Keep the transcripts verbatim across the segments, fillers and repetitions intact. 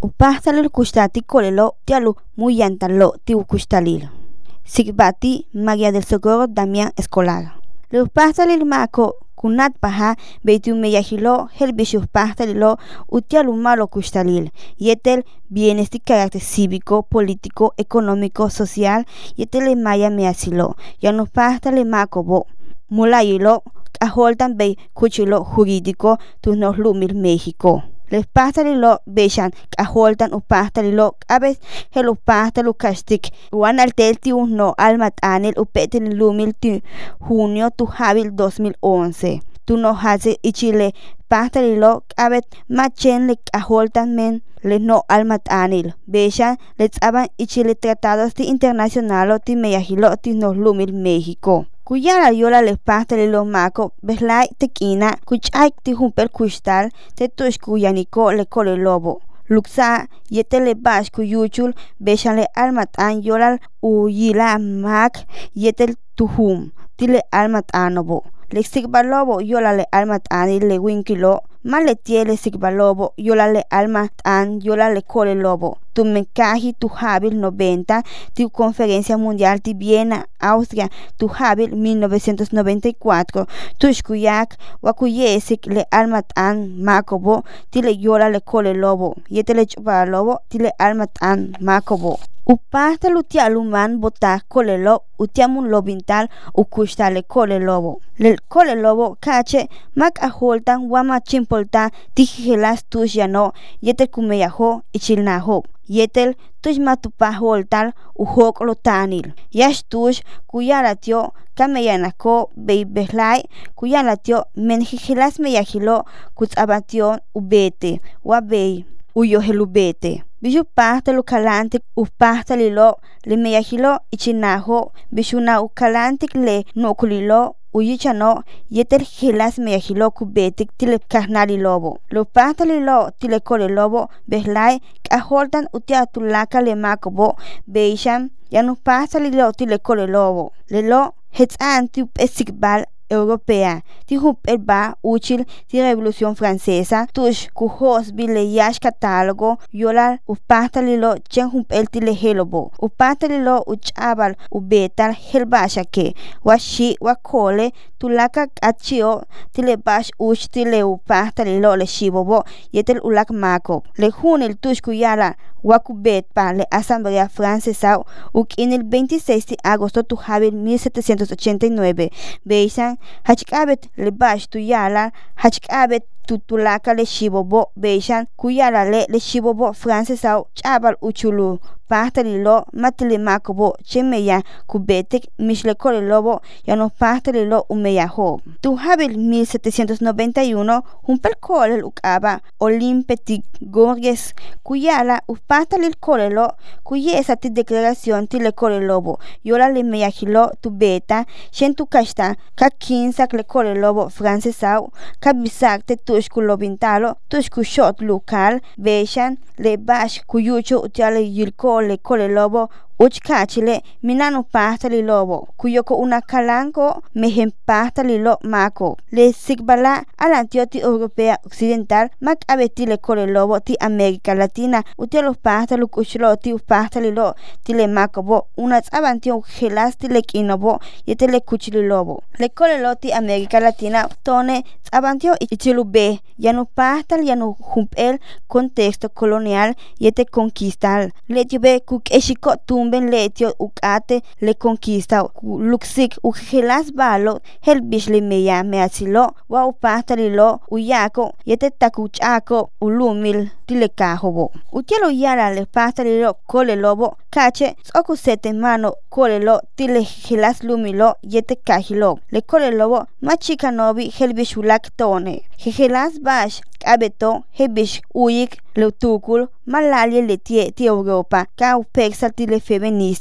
Upahtalil kushtati kolelo tialu muyantalo ti ukustalil. Sigbati María del Socorro Damián Escolar. Le upahtalil mako kunat paha beitu meyahilo helbish upahtalilo utialu malo kustalil. Yetel bienestar carácter cívico, político, económico, social, yetel maya measilo. Yanu pahtale makobo. Mulayilo aholtan bei kuchilo jurídico tunos lumil México. Les pastalilo bechan aholtan upastalilo abes hel upastalu kastik wan altelti uno almat anel upetel lumil ti junio tu habil dos mil once. Tu no hace ichile pastalilo abet machen le aholtan men le no almat anil. Bechan les aban ichile tratados ti internacionalo ti meyahilo ti no lumil México. Kuyara yola le pastalilo mako beslai tekina kuchay ti humpel kustal te tush kuyaniko le kole lobo. Luksa yetele bash kuyuchul beshale almat an yolal uyila mak yetel tuhum tile almat anobo. Le sigbalobo yola le almat ani le winkilo male tiele sigbalobo yola le almat an yola le kole lobo. Tu mencaji tu habil noventa tu conferencia mundial ti Viena, Austria, tu habil mil novecientos noventa y cuatro, tushkuyak wakuyesik le almat an makobo tile yola le kole lobo yetele chupa lobo tile almat an makobo. Upasta lutia luman bota kolelo utiamun lobintal ukushta le kole lobo. Le kole lobo kache mak aholtan wama chimpolta tijelas tush yano yetel kumeyaho ichilnaho. Yetel tush matupaholtal uhok lotanil. Yash tush kuyalatio kameyanako beibeslai kuyalatio menjijilas meyajilo kutsabatio ubete wabei uyohelubete. Bishu pasta lukalante upasta lilo le meyajilo ichinaho bishuna ukalantik le nokulilo uyichano yetel hilas meyajilo kubetik tile kahnali lobo. Lo pasta lilo tile kole lobo beslai kaholtan utiatulaka le makobo beisham yanu pasta lilo tile kole lobo. Lelo hetzan tu esikbal europea ti hup elba uchil ti revolución francesa tush kuhos bile yash catálogo yola upahtalilo chen hup el tile helobo upahtalilo uchabal ubetal helbasha ke washi wakole tulaka achio tile bash uch tile upahtalilo le shibobo yetel ulak mako le junil tush kuyala wakubet pa le asamblea francesa uk en el veintiséis de agosto tu habil mil setecientos ochenta y nueve beisan hachikabet le bash tu yala hachikabet tutulaka le shibobo beishan kuyala le le shibobo francesa chabal uchulu pastalilo matile makobo chemeya kubetek mishle kole lobo yano pastalilo umeyaho. Tu habil mil setecientos noventa y uno humpel kole ukaba Olympetic Gorges kuyala upastalil kolelo kuyesa ti declaración ti le kole lobo yola le meyahilo tu beta shen tu kashta ka kinsak le kole lobo francesa kabisak te tushku lobintalo tushku shot local beshan le bash kuyucho utiale yilko le kole lobo uchkachile minano pastali lobo kuyoko una kalanko mehem pastali lo mako le sigbala alantio ti europea occidental mak abeti le kole lobo ti América Latina utialo pastalu kuchlo ti pastali lo ti le makobo una abantio gelas ti le kinobo yete le kuchli lobo le kole lo ti América Latina tone abantio ichilube yanu pastal yanu humpel contexto colonial yete conquistal le tibe kuk eshiko tum ben letio ukate le conquista luxik ugelas balo helbish le meya measilo wa upastalilo uyako yete takuchako ulumil tilekahobo utielo yara le pastalilo kole lobo kache soku sete mano kole lo tile gelas lumilo yete kahilo le kole lobo machika nobi helbish ulak tone gelas bash abeto hebish uyik le tukul malalia le tie ti Europa ka upexal tile feminista so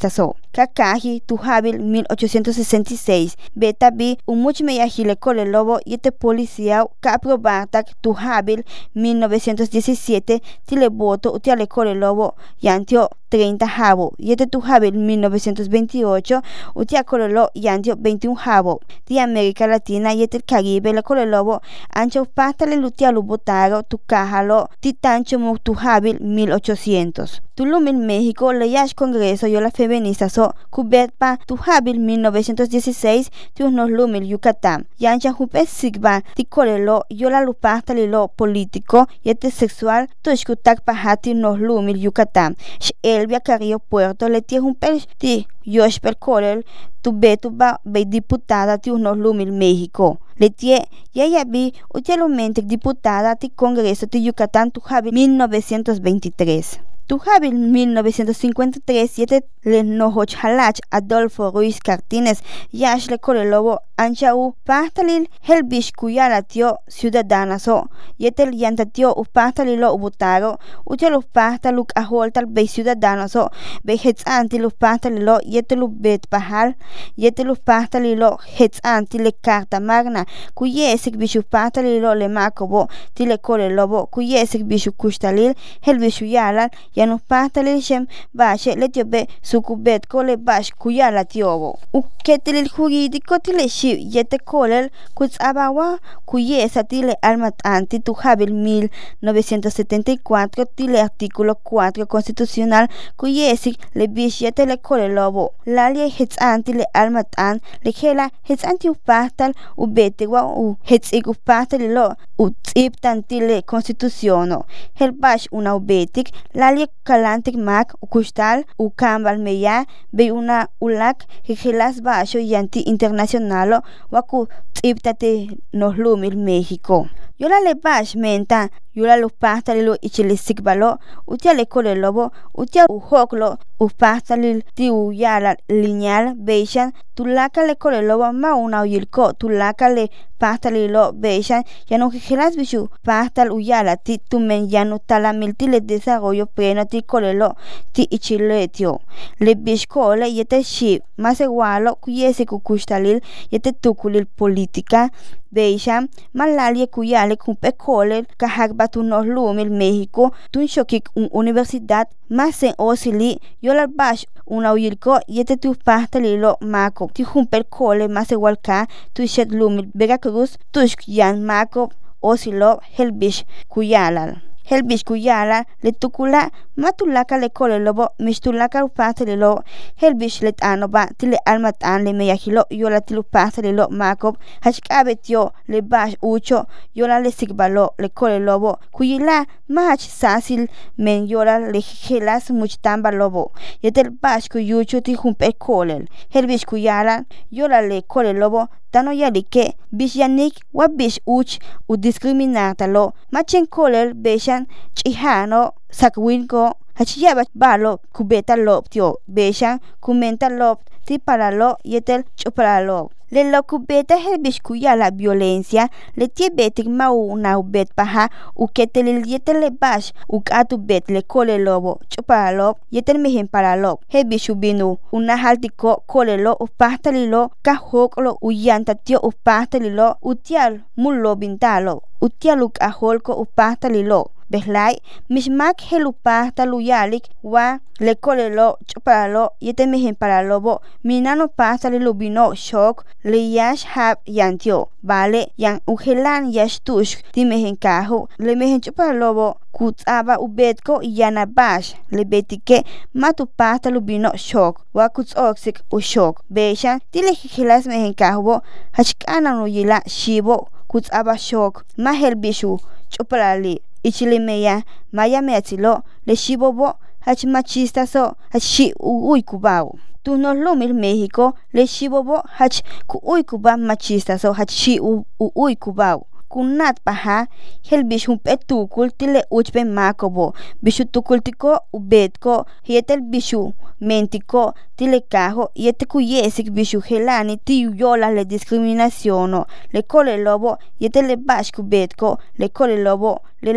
kakaji tujabil mil ochocientos sesenta y seis. Beta bi umuch meyajile kole lobo yete policía ka aprobatak tujabil mil novecientos diecisiete tile voto utiale kole lobo yantio treinta jabo. Yete tujabil mil novecientos veintiocho utia kole lo yantio veintiún jabo. Ti América Latina yete el Caribe le kole lobo ancho pasta le lutia lu botaro tu cajalo titancho mo tujabil mil ochocientos. Tulum en México le yash congreso yo la feminista so kubet pa tujabil mil novecientos dieciséis tu nos lumil Yucatán. Yancha jupe sigba ti kolelo yo la lupasta le lo político yete sexual tu escutak pahati nos lumil Yucatán. Elvia Carrillo Puerto le tie jupe ti yosh per kolel tu betu ba be diputada ti nos lumil México. Le tie ya ya bi utialmente diputada ti congreso ti Yucatán tujabil mil novecientos veintitrés. Tujabil mil novecientos cincuenta y tres yete le nohochalach Adolfo Ruiz Cartines yash le kolelobo ancha u pastalil helbish kuyala tio ciudadana so yete el yanta tio u pastalilo ubutaro utia los pastaluk aholtal be ciudadana so be hets anti los pastalilo yete lu bet pahal yete los pastalilo hets anti le carta magna kuyesik bishu pastalilo le makobo tile kolelobo kuyesik bishu kustalil helbishu yala yanu pastalil shem bashe le tio be sukubet kole bash kuyala tiobo u ketilil jurídico tile shi yete kolel kutsabawa kuyesa tile almat anti tujabil mil novecientos setenta y cuatro tile artículo cuatro constitucional kuyesik le bish yete le kolelobo lalie hets anti le almat an le kela hets anti u pastal u betewa u hets igu pastal lo u tsip tantile constituciono hel bash una ubetik lalie kalantik mak u kustal u kambal meya be una ulak helas basho yanti internacionalo waku tsiptate nos lumil México. Yola le bash menta yola los pastalilo ichile sikbalo utia le kole lobo utia u hoklo u pastalil ti u yala lineal beishan tulaka le kole lobo ma una uyilko tulaka le pastalilo beishan yano helas bishu pastal u yala ti tumen yano talamil ti le desarrollo pleno ti kolelo ti ichile tio le bishkole yete shi más igualo kuyese kukustalil yete tukulil política beishan malalie kuyale kumpe kole kahak batu nos lumil México tun shokik un universidad más en osili yola bash una uyilko yete tu pastalilo mako ti humper kole más igual ka tu shet lumil Veracruz tushk yan mako osilo helbish kuyalal helbish kuyala le tukula matulaka le kole lobo mishtulaka pastalilo helbish let anoba tile almatan le meyajilo yola tilu pastalilo makob hachkabetio le bash ucho yola le sigbalo le kole lobo kuyila mach sasil men yola le helas muchtamba lobo yetel bash kuyucho ti humpe kolel helbish kuyala yola le kole lobo tano yalike bish yanik wa bish uch u discriminatalo machen kolel beshan chihano sakwinko hachiyaba balo kubeta lob tio beshan kumenta lob ti para lo yetel chupara lob le lo kubeta helbish kuya la violencia le tie betik mau na ubet paha u ketel yetel le bash u katu bet le kole lobo chupara lob yetel mehen para lob helbish ubinu una haltiko kole lo u pastalilo kahoklo u yanta tio u pastalilo utial mullo bintalo utialuk aholko u pastalilo Behlai, mismak helupasta luyalik wa le kolelo chupalo yete mihin para lobo minano pasta le lubino shock le yash hab yantio vale yang uhelan yash tush ti mihin kahu le mihin chupalobo kutsaba ubetko yana bash le betike matu pasta lubino shock wa kuts oxik u shock beshan ti le hilas mihin kahu hachkana no yila shibo kutsaba shock mahel bishu chupalali ichilimeya maya meatilo le shibobo hach machista so hachi uy kubao tu nos lumil México le shibobo hach ku uy kuba machista so hachi uy kubao kunat paha hel bishum petukul tile uchpe makobo bishu tukultiko ubetko yetel bishu mentiko tile kaho yete kuyesik bishu helani ti yola le discriminaciono le kole lobo yete le bash kubetko le kole lobo le lo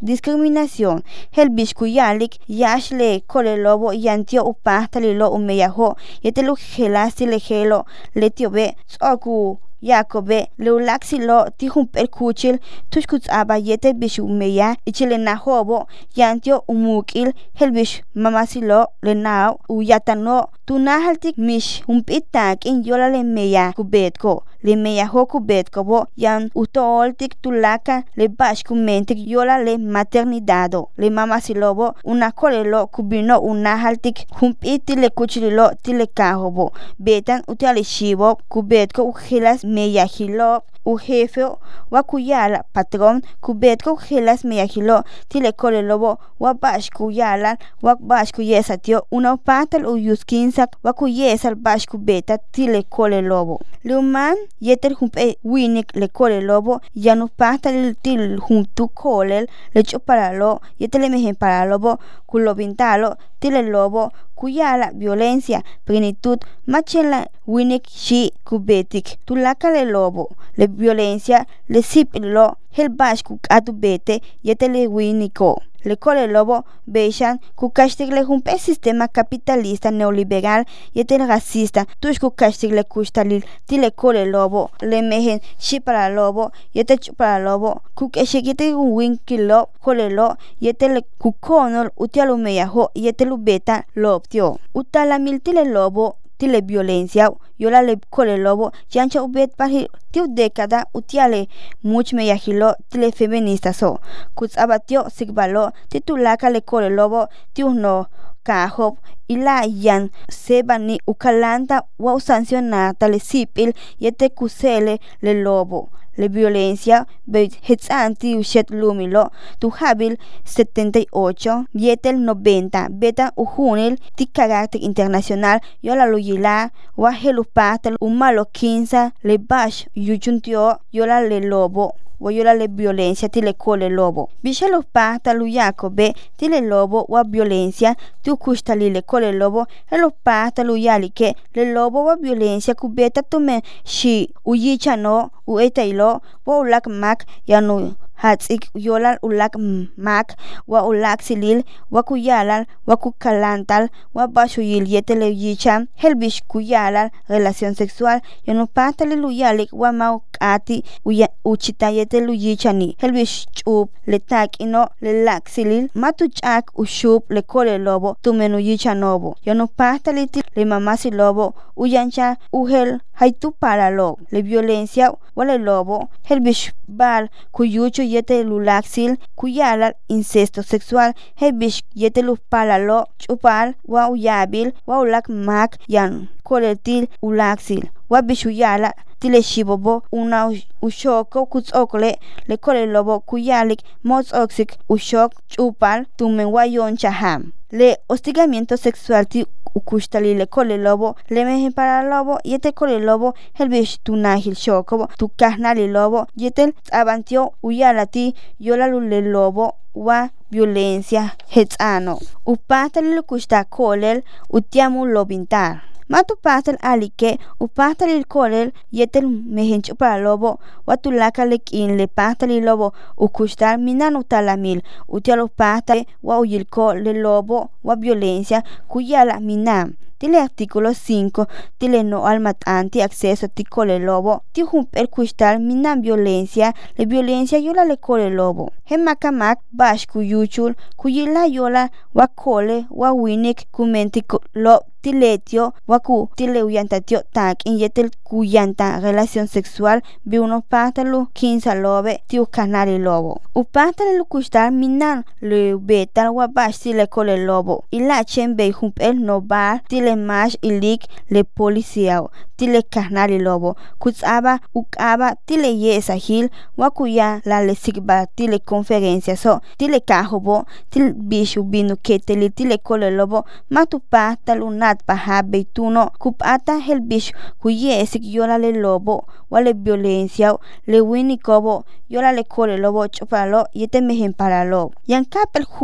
discriminación. El biscuyalik yash le kole lobo yantio upahta lilo umeyaho yete lu gelasi le gelo le tiobe soku Yakobe leulaxi lo tihun perkuchil tushkuts abayete bishu meya ichile nahobo yantio umukil helbish mamasilo le nao uyatano tunahaltik mish umpitak in yola le meya kubetko le meya ho kubetko bo yan utoltik tulaka le bashkumentik yola le maternidado le mamasilobo una kolelo kubino unahaltik humpiti le kuchililo tile kahobo betan utali shibo kubetko ujilas meyahilo u jefe wa kuyala patrón kubetko ujilas meyahilo tile kolelobo wa bashku yala wa bashku yesatio una patal u yuskinsak wa kuyesal bashku beta tile kolelobo luman yeter humpe winik le kolelobo yanu patal til humtu kolel le choparalo yetele mejen paralobo kulobintalo tile lobo kuyala violencia plenitud machela winik shi kubetik tulaka le lobo le violencia le sipilo el bashku atu bete yetele winiko le kole lobo beishan kukashtik le humpe sistema capitalista neoliberal yetel racista tush kukashtik le kustalil tile kole lobo le mejen shi para lobo yete para lobo kukeshikite winkilo kole lo yetel kukonol utialu meyaho yetel beta loptio utala mil tile lobo tile violencia yola le kole lobo yancha ubet parhi tiu década utiale much me yahilo tile feminista so kuts abatio sigbalo titulaka le kole lobo tiu no kahop ila yan sebani ukalanta wa sancionata le sipil yete kusele le lobo le violencia bet hetzanti ushet lumilo tu habil setenta y ocho yetel noventa beta ujunil ti carácter internacional yola luyila wa helupata umalo quinza le bash yuchuntio yola le lobo wa yola le violencia tile kole lobo bishelo pata lu yakobe tile lobo wa violencia tu kustali le kole lobo elo pata lu yalike le lobo wa violencia kubeta tume shi uyicha no uetailo wa ulak mak yanu hatsik yolal ulak mak wa ulak silil wa kuyalal wa kukalantal wa bashuyil yetele yicha helbish kuyalal relación sexual yanu patale luyalik wa maukati uchita yetelu yichani helbish chup le tak ino le lak silil matuchak ushup le kole lobo tumenu yicha nobo yanu patale le mamasi lobo uyancha uhel haitu para lo le violencia wale lobo helbish bal kuyucho yete lulaxil kuyala incesto sexual helbish yete lupalalo chupal wa uyabil wa ulak mak yan koletil ulaxil wa bishuyala tile shibobo una ushoko kutsokle le kole lobo kuyalik mots oxik ushok chupal tumen wa yoncha ham le hostigamiento sexual ti ukustali le kole lobo le mejen para lobo yete kole lobo helbish tunahil shokobo tu kahnali lobo yetel abantio uyalati yola le lobo wa violencia hetzano upatali le kusta kolel utiamu lobintar matu pastel alike u pastel kolel yetel mehencho para lobo watulaka lekin le pastel lobo u kustar minanu talamil utialo pastel wa uyilko le lobo wa violencia kuyala minam tile artículo cinco tile no al matante acceso ti kole lobo ti humper kustar minam violencia le violencia yola le kole lobo hemakamak bash kuyuchul kuyila yola wa kole wa winik kumenti lo tiletio waku tile uyantatio tak in yetel kuyanta relación sexual bi uno patalu quinza lobe tiu canari lobo u patalu kustar minan le betal wa bash tile kole lobo ila chembe humpel no bar tile mash ilik le policía tile canari lobo kutsaba ukaba tile yesa hil wakuya la le sigba tile conferencia so tile kahobo til bishu binu keteli tile kole lobo matu patalu na paha beituno kupata helbish kuyesik yola le lobo wale violencia le winikobo yola le kole lobo chupalo yete mejen para lo yan kapel hum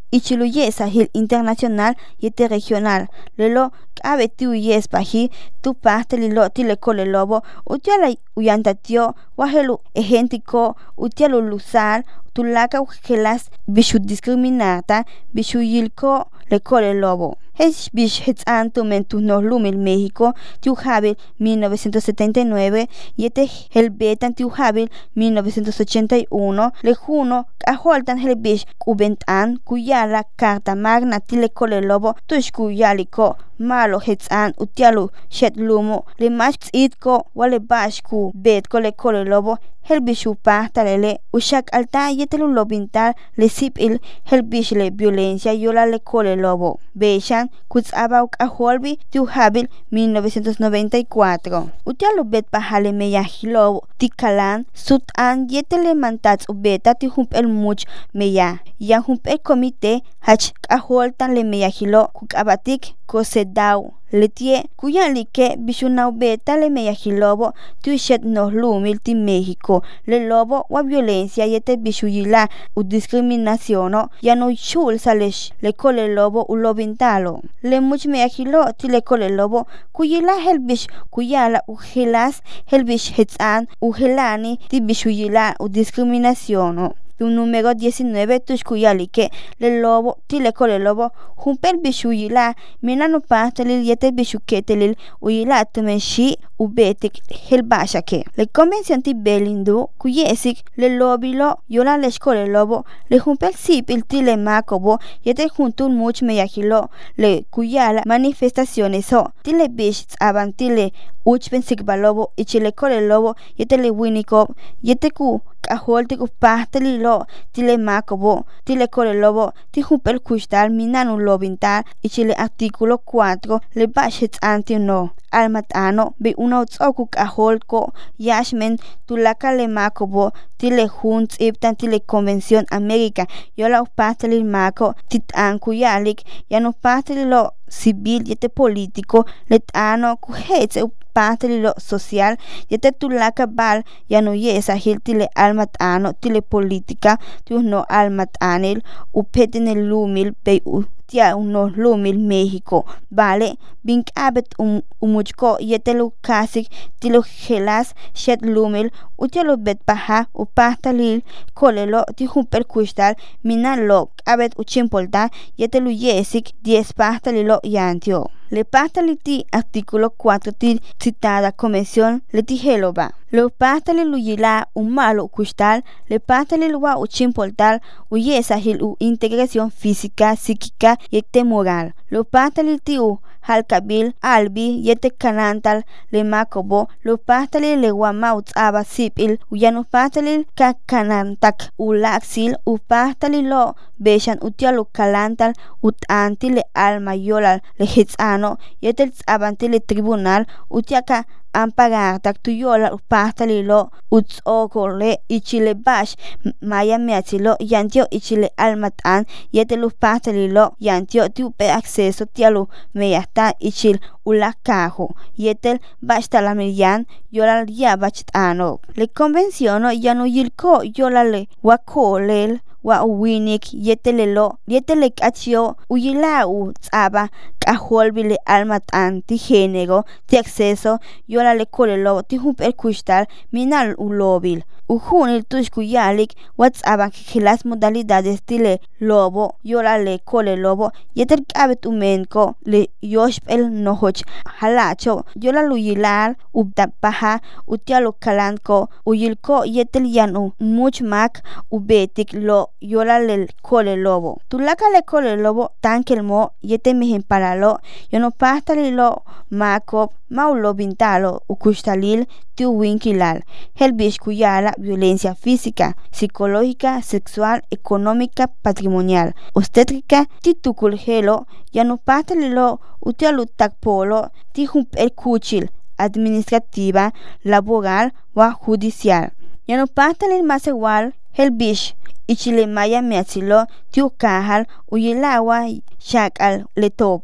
ichiluyesa hil internacional yete regional lelo abe tiu yes baji tu parte lilo tilekole lobo utiala uyantatio wahelu ejentiko utialu lusar tulaka ujelas bishu discriminata bishu yilko lekole lobo. Es bish hetzanto mentu no lumil México tiu habil mil novecientos setenta y nueve yete helbetan tiu habil mil novecientos ochenta y uno le juno aholtan helbish kubentan kuyala carta magna tilekole lobo tush kuyaliko malo hetzan utialu shet lumo le max itko wale bashku bet kole kole lobo helbishu pahta lele ushak alta yetelu lobintal le sipil helbish le violencia yola le kole lobo beshan kutzaba aholbi tiu habil mil novecientos noventa y cuatro utialu bet pahale meyahilobo tikalan sutan yetele mantats ubeta ti hump el much meya ya hump el comité hach aholtan le meyahilo kukabatik kosedau letie kuya like bishunau beta le meyahilobo tu shet no lumil ti México le lobo wa violencia yete bishuyila u discriminaciono ya no chul salesh le kole lobo u lobintalo le much meyahilo ti le kole lobo kuyila helbish kuyala u helas helbish hetzan u helani ti bishuyila u discriminaciono. Tu número diecinueve tushkuyalike le lobo tilekole lobo humpel bishuyila minano pastelil yete bishuketelil uyila tumenshi ubetik helbashake le convención ti belindu kuyesik le lobilo yola le shkole lobo le humpel sipil tile makobo yete juntul much meyahilo le kuyala manifestaciones o tile bish abantile uchpen sikbalobo ichile kole lobo yete le winiko yete ku kaholte ku pasteli lo tile makobo tile kole lobo ti humpel kustal minanu lobintal ichile artículo cuatro le bashet antino almatano be una otsoku kaholko yashmen tulaka le makobo tile hunt iptan tile convención América yola pasteli mako titan kuyalik yano pasteli lo civil yete político letano kuhetze pasteli lo social yete tulaka bal yano yesa hil tile almatano tile política tu no almatanil upetene lumil be u tia uno lumil México vale bink abet um umuchko yetelu kasik tilo gelas shet lumil utialo bet paha u pastalil kolelo ti humper kustal minalo abet uchimpolta yetelu yesik diez pastalilo yantio le pastaliti artículo cuatro ti citada convención le tijeloba lo pastalil uyila un malo kustal le pastalil wa uchimpoltal uyesa hil u integración física psíquica yete moral lo pastalil tiu halkabil albi yete kanantal le makobo lo pastalil le wamaut aba sipil uyano pastalil ka kanantak ulaxil u pastalil lo beshan utialo kalantal utanti le alma yolal le hitzano yete abanti le tribunal utiaka ampagar tak tuyola pastalilo utzokole ichile bash maya meachilo yantio ichile almatan yete lu pastalilo yantio tupe acceso tialu meyasta ichil ulakajo yetel bashtalamilian yola ya bachano le convenciono yano yilko yola le wakolel wa uwinik yetelelo yetelek achio uyila u tsaba kaholbile almatan ti género ti acceso yola le kolelo ti humper kustal minal ulobil ujunil tushkuyalik whatsaba que las modalidades tile lobo yola le kole lobo yetel kabet umenko le yoshpel nohoch halacho yola luyilar ubdapaha utialo kalanko uyilko yetel yanu much mak ubetik lo yola le kole lobo tulaka le kole lobo tankelmo yete mihin paralo yono pastalilo mako maulo bintalo ukustalil tiu winkilal helbish kuyala violencia física, psicológica, sexual, económica, patrimonial, obstétrica, titukul helo, yano pastalilo utialu takpolo, tihump el kuchil, administrativa, laboral wa judicial. Yano pastalil más igual, helbish, ichile maya meachilo, tiu kahal, uyilawa, shakal, letopo.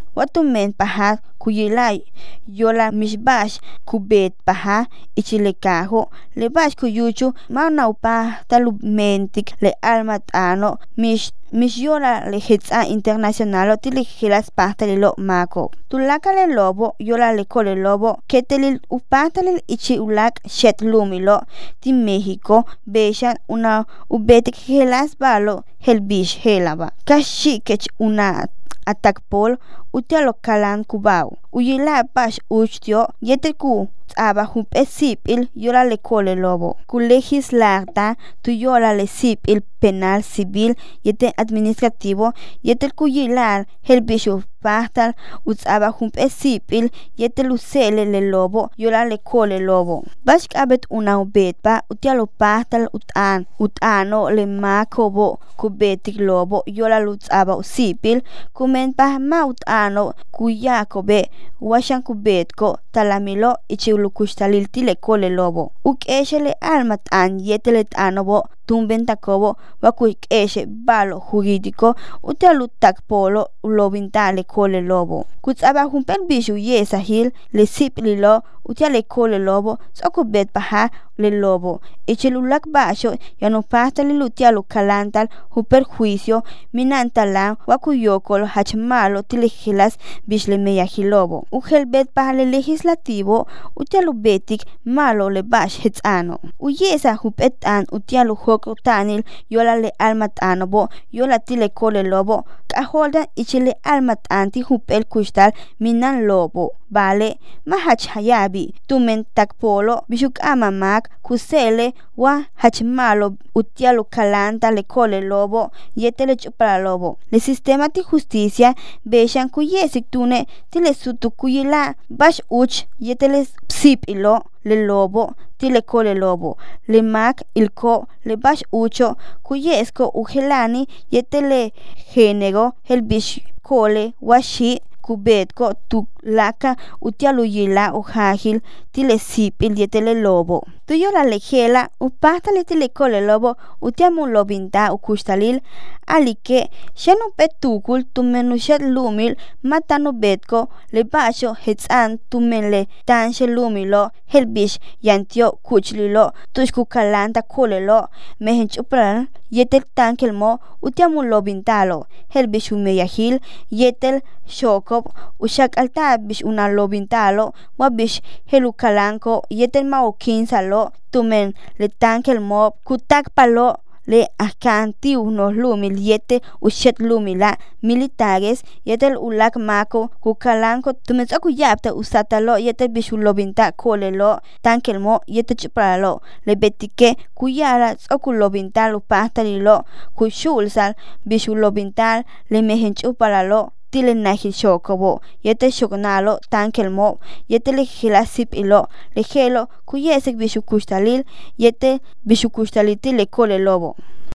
watumen paha kuyilay yola mishbash kubet paha ichilekajo le bash kuyuchu manaupa talumentik le almat ano mish mish yola le hetsa internacional tili hilas pastali lo mako tulaka le lobo yola le kole lobo ketelil upatali ichi ulak shet lumilo ti México beshan una ubetik hilas balo helbish helaba kashikech una atakpol utialo kalan kubao uyila bash ustio yeteku aba hump esipil yola le kole lobo ku legislarta tu yola le sipil penal civil yete administrativo yetel kuyilar helbishu pastal utsaba hump esipil yetel usele le lobo yola le kole lobo bash abet una ubetpa utialo pastal utan utano le makobo kubetik lobo yola lutsaba usipil kumen pa mautano kuyakobe washan kubetko talamilo ichi lukustalil tile kole lobo uk eshele almat an yetelet anobo tumben takobo wakuik eshe balo jurídico utalu takpolo lobintale kole lobo kutsaba humpen bishu yesahil le siplilo utale kole lobo sokubet paha le lobo echelulak basho yano pastali lutialo kalantal hu perjuicio minantalan wakuyokol hachmalo tilegilas bishle meyahilobo uhelbet paha le legislativo utialo betik malo le bash hetzano uyesa hupetan utialo hoko tanil yola le almat anobo yola tile kole lobo kaholdan ichile almat anti hupel kustal minan lobo vale mahach hayabi tumen takpolo bishuk amamak kusele wa hachmalo utialo kalanta le kole lobo yetele chupara lobo le sistema ti justicia beshan kuyesik tune tile sutu kuyila bash uch yetele psip ilo le lobo tile kole lobo le mak ilko le bash ucho kuyesko uhelani yetele género el bish kole washi kubetko tulaka utialu yila ujahil tile sipil yetele lobo tuyo la lejela upastale tile kole lobo utiamu lobinta ukustalil alike shenu petukul tumenushet lumil matanu betko le basho hetzan tumenle tanshe lumilo helbish yantio kuchlilo tushku kalanta kolelo mehenchupral yetel tankelmo utiamu lobintalo helbish umeyahil yetel shokop ushak alta bish una lobintalo wabish helukalanko yetel maokinsalo tumen le tankel mob kutak palo le akanti unos lumil yete ushet lumila militares yetel ulak mako kukalanko tumen akuyapta usatalo yete bishulobinta kolelo tankel mo yete chupralo le betike kuyara okulobinta pastalilo kushulsal bishulobintal le mehenchupalalo tile nahil shokobo yete shokonalo tankelmo yete le gilasip ilo le gelo kuyesek bishukustalil yete bishukustalil tile kole lobo